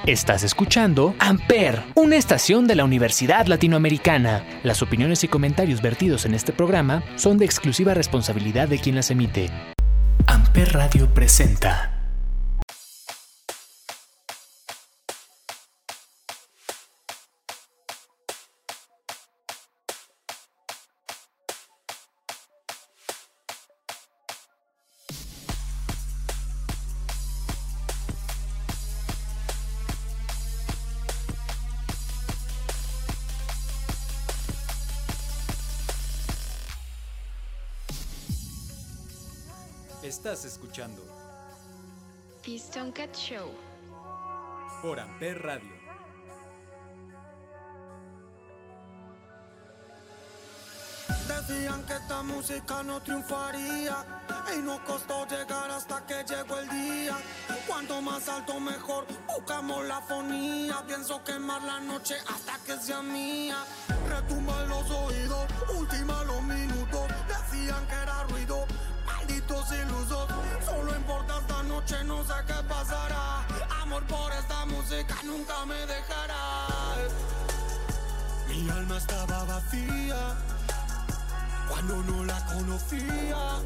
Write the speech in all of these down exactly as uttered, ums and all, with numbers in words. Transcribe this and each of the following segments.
Estás escuchando Amper, una estación de la Universidad Latinoamericana. Las opiniones y comentarios vertidos en este programa son de exclusiva responsabilidad de quien las emite. Amper Radio presenta. Estás escuchando The Stonecat Show por Amper Radio. Decían que esta música no triunfaría y nos costó llegar hasta que llegó el día. Cuanto más alto mejor, buscamos la fonía. Pienso quemar la noche hasta que sea mía. Retumba en los oídos, última los minutos. Decían que era ruido, malditos ilusos. Solo importa esta noche, no sé qué pasará. Amor por esta música nunca me dejará. Mi alma estaba vacía cuando no la conocía.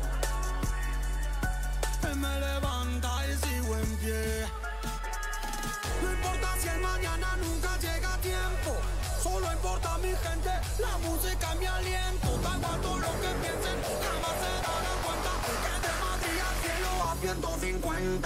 Él me levanta y sigo en pie. No importa si el mañana nunca llega a tiempo. Solo importa mi gente, la música, mi aliento. Da igual todo lo que piensen, jamás se darán cuenta que de Madrid al cielo a ciento cincuenta.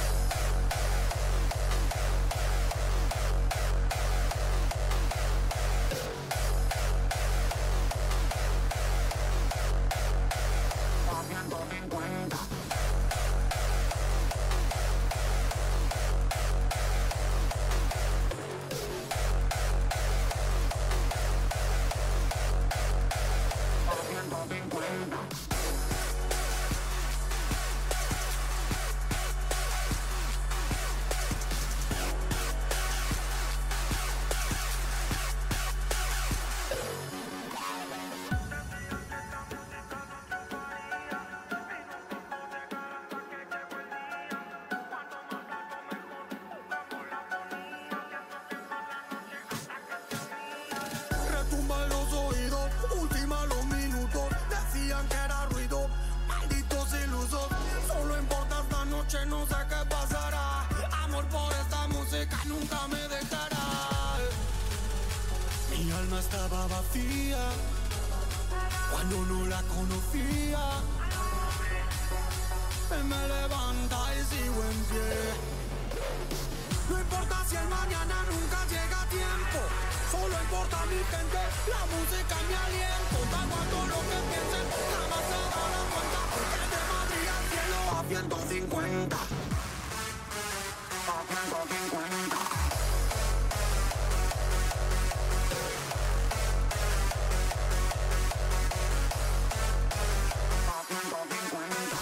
No sé qué pasará. Amor por esta música nunca me dejará. Mi alma estaba vacía cuando no la conocía. Él me levanta y sigo en pie. No importa si el mañana nunca llega a tiempo. Solo importa mi gente, la música, mi aliento. Da igual todo lo que piensen, jamás se darán cuenta que de Madrid al cielo a ciento cincuenta. A ciento cincuenta. A ciento cincuenta.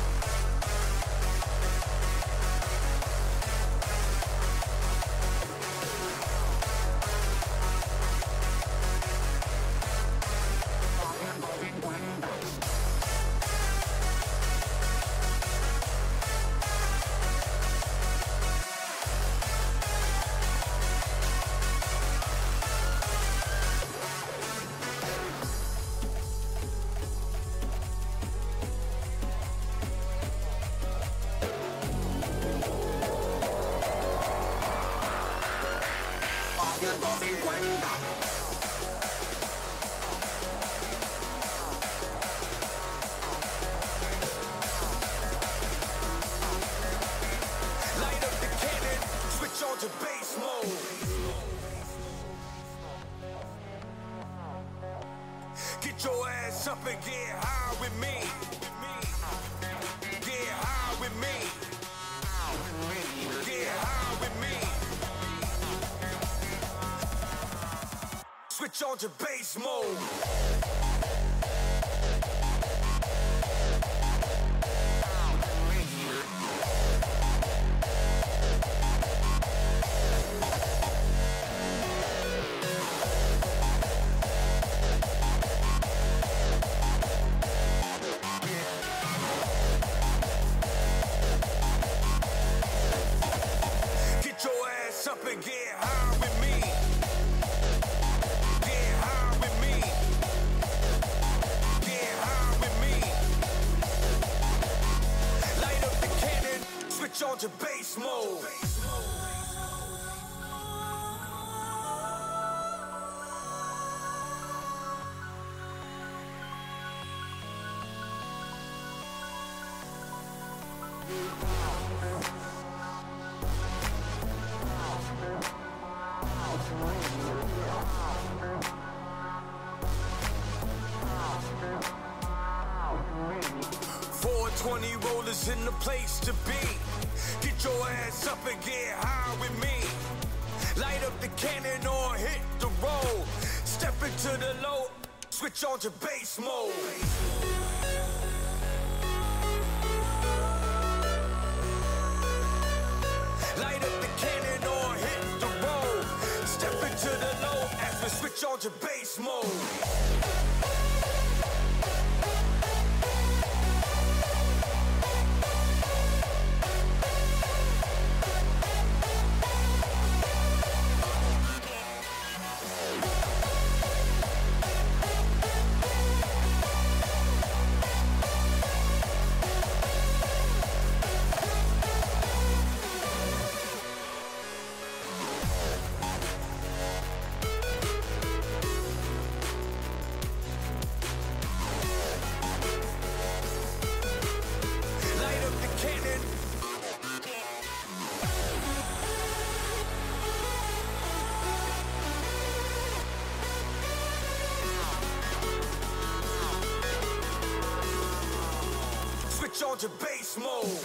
Get your ass up and get high with me. Get high with me. Get high with me. Switch on to bass mode. four twenty rollers in the place to be. Get your ass up and get high with me. Light up the cannon or hit the road. Step into the low, switch on to bass mode. Light up the cannon or hit the road. Step into the low as we switch on to bass mode. On to bass mode.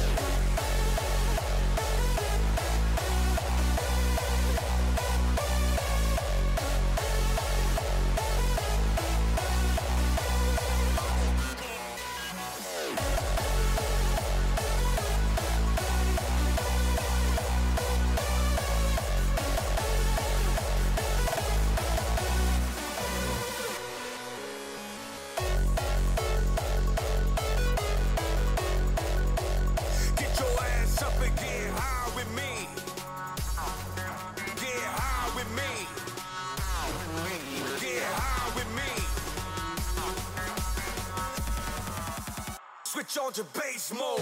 Switch on to bass mode.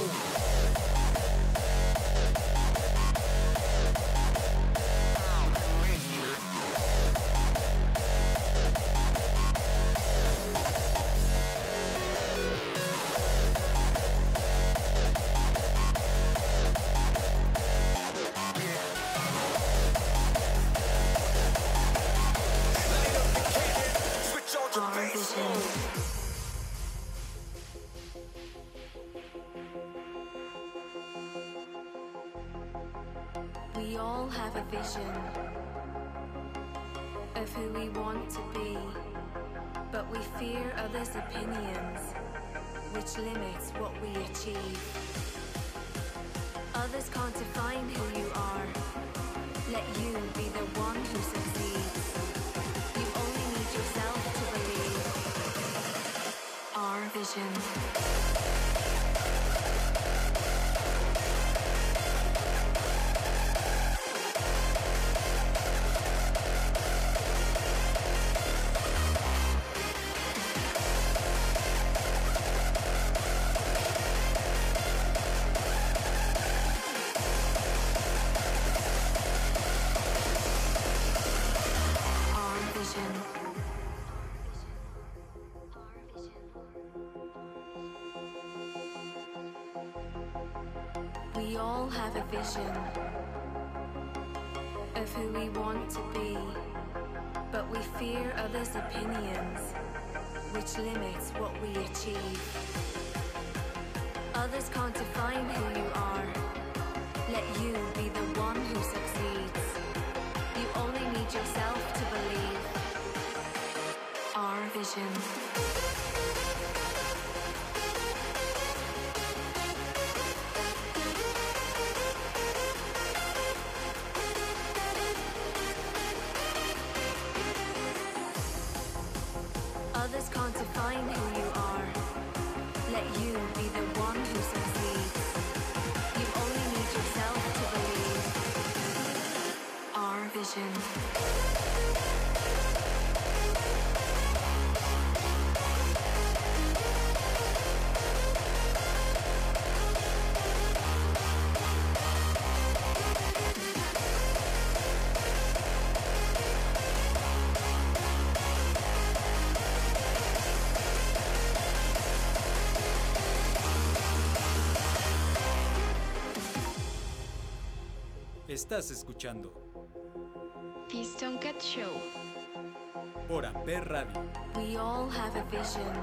We all have a vision of who we want to be, but we fear others' opinions, which limits what we achieve. Others can't define who you are. Let you be the one who succeeds. You only need yourself to believe. Our vision. We all have a vision of who we want to be, but we fear others' opinions, which limits what we achieve. Others can't define who you are. Let you be the one who succeeds. You only need yourself to believe. Our vision. Others can't define who you are. Let you be the one who succeeds. You only need yourself to believe. Our vision. Estás escuchando The Stonecat Show. Por Amper Radio. We all have a vision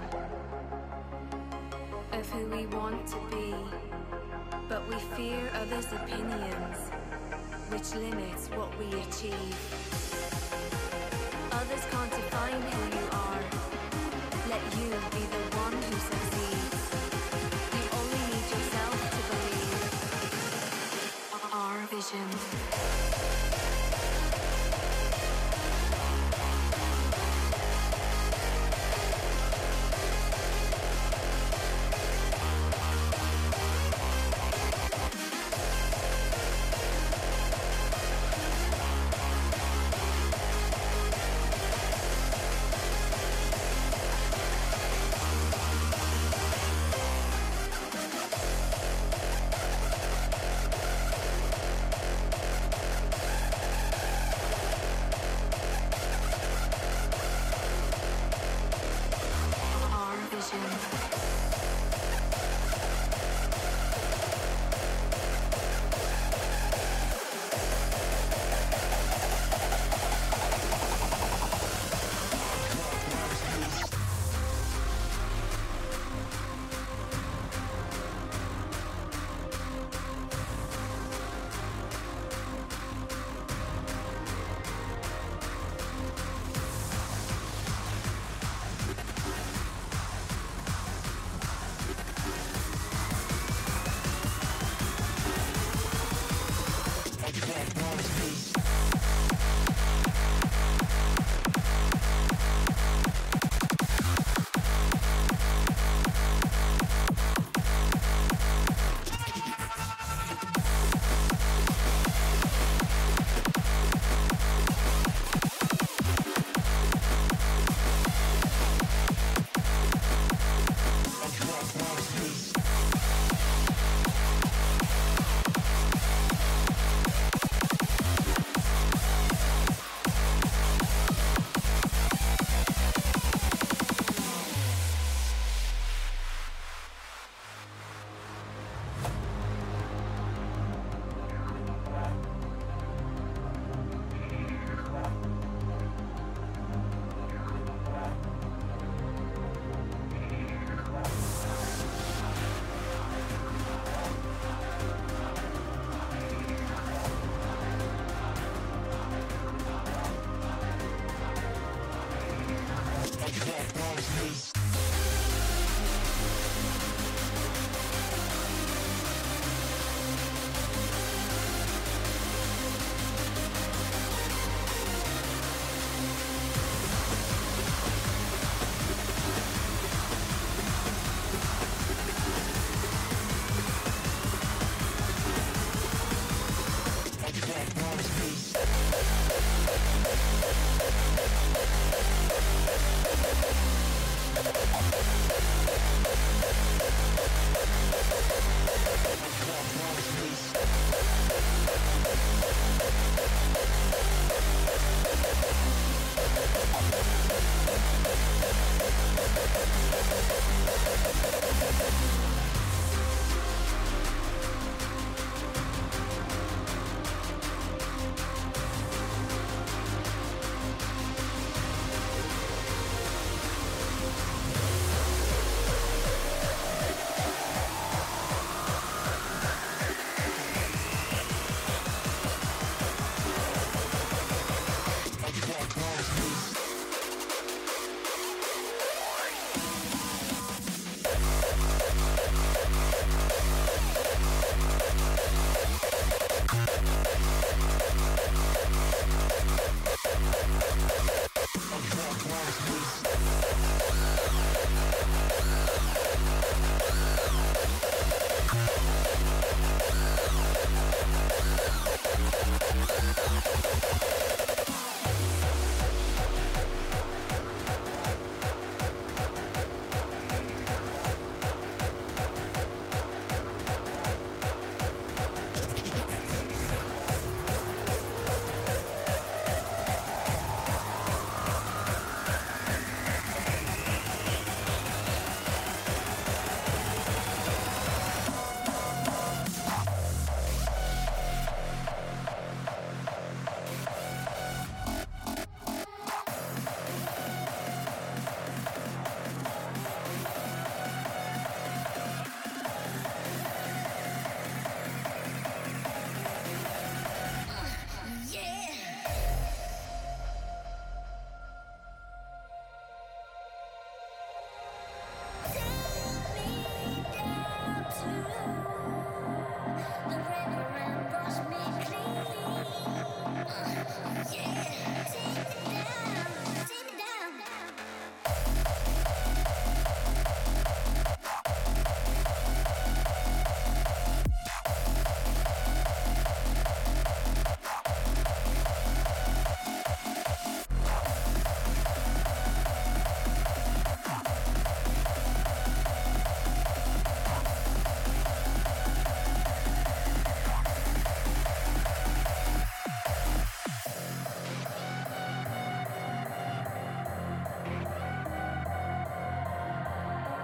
of who we want to be, but we fear others' opinions, which limits what we achieve. Others can't define who you are. Let you be the one who succeeds. You only need yourself to believe. Our vision.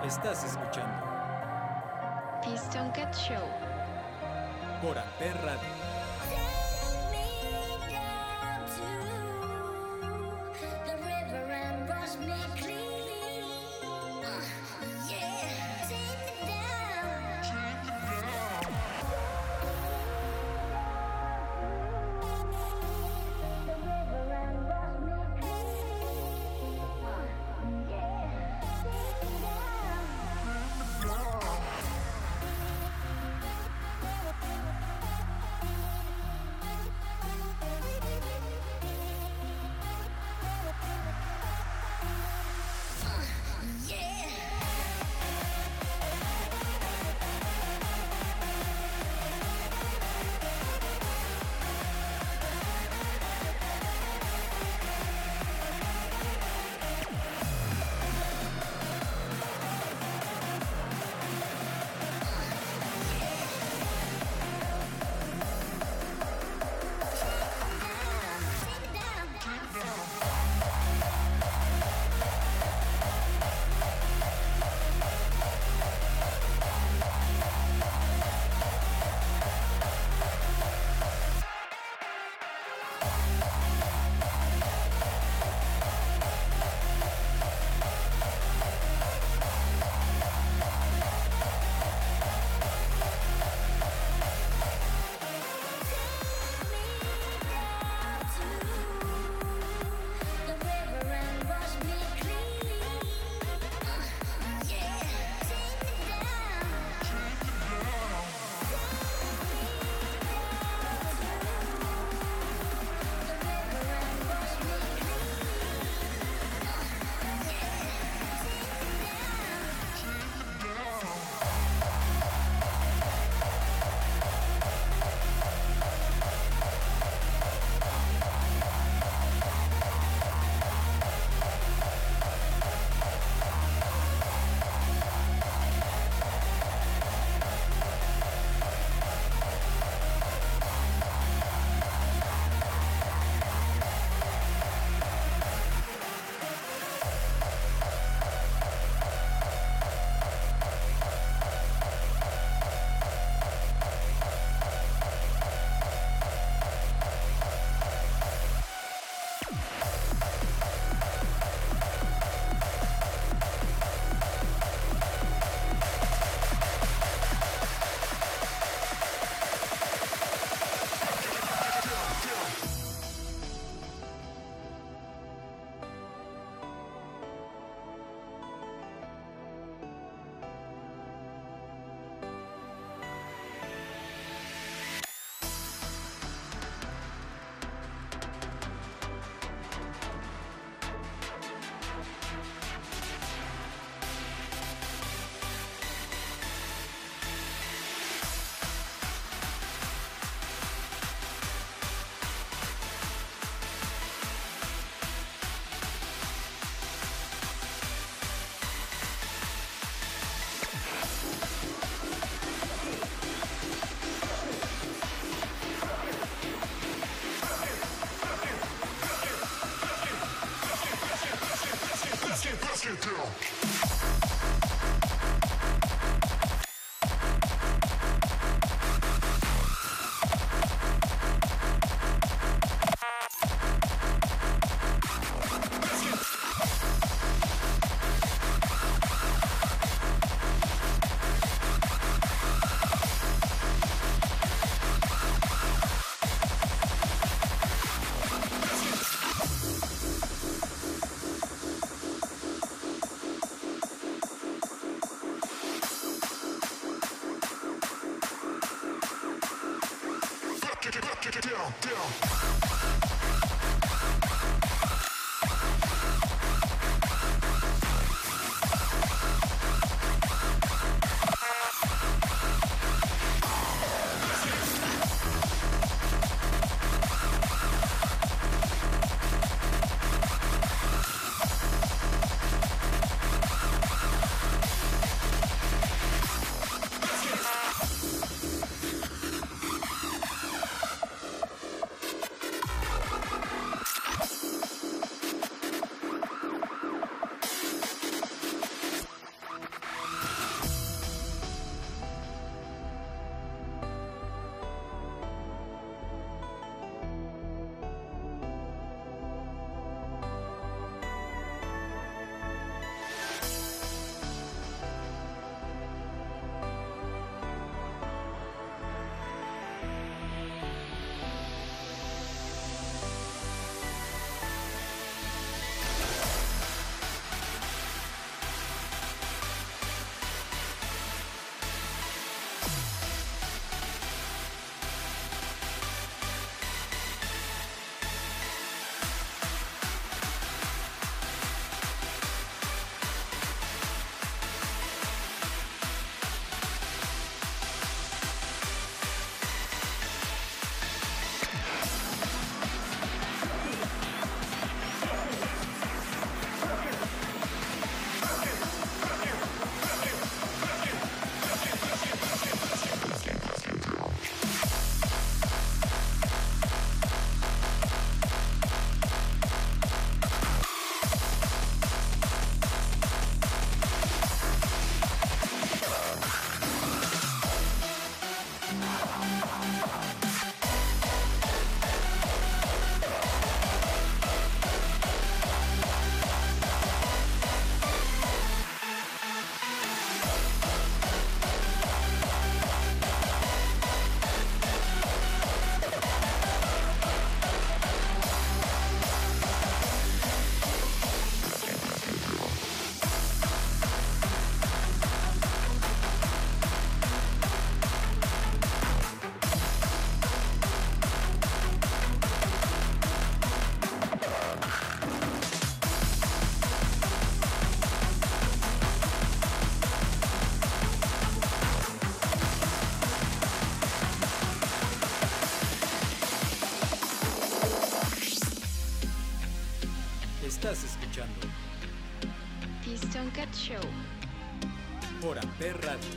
Estás escuchando The Stonecat Show. por Amper Radio. Estás escuchando The Stonecat Show. por Amper Radio.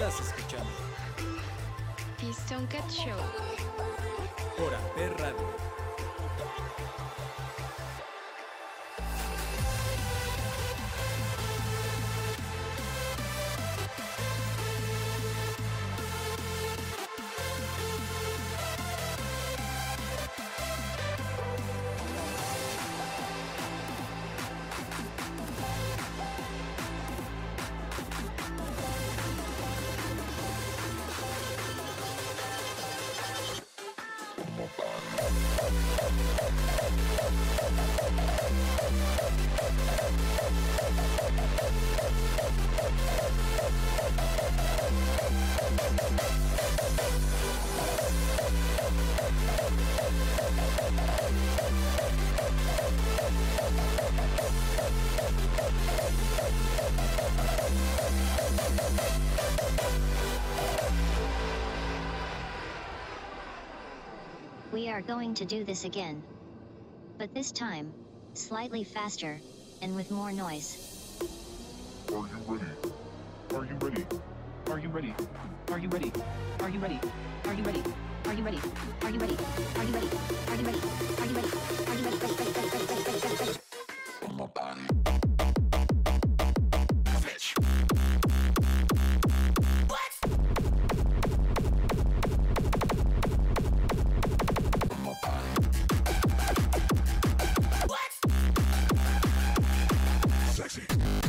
Estás escuchando The Stone Cat Show. por Amper Radio. We are going to do this again. But this time, slightly faster, and with more noise. Are you ready? Are you ready? Are you ready? Are you ready? Are you ready? Are you ready? Are you ready? Are you ready? Are you ready? Are you ready? Are you ready? Are you ready? Are you ready? Ready, ready, ready, ready, ready, ready, ready. On my body. Bitch. What? On my body. What? Sexy.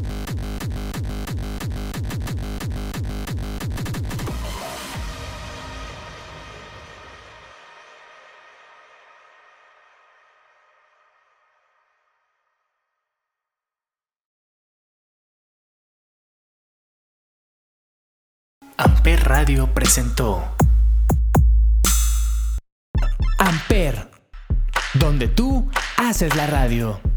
Amper Radio presentó Amper, donde tú haces la radio.